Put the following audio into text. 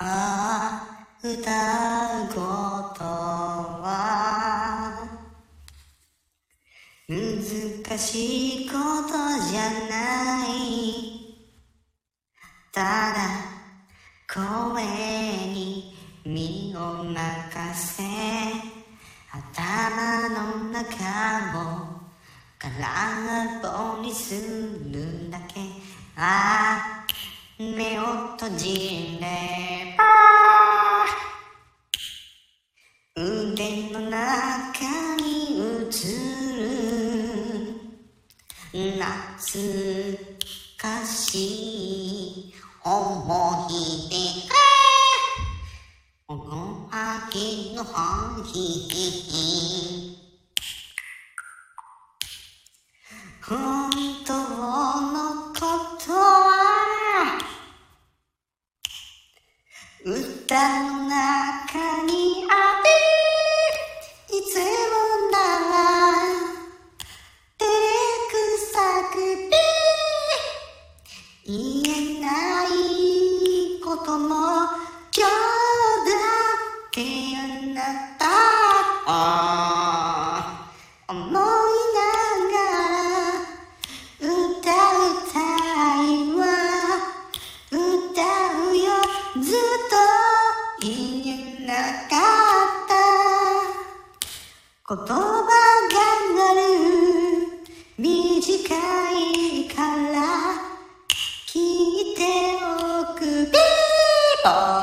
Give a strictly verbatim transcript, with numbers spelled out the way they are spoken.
ああ、歌うことは難しいことじゃない。ただ声に身を任せ、頭の中を空っぽにするだけ。ああ、目を閉じれば腕の中に映る懐かしい思い出がこの秋の日、本当のことは歌の中にある。いつもなら照れくさくて言えないことも今日だってあなたを思いながら歌うたいは歌うよ。ずっと言えなかった言葉がある。短いから聞いておく。ピーポー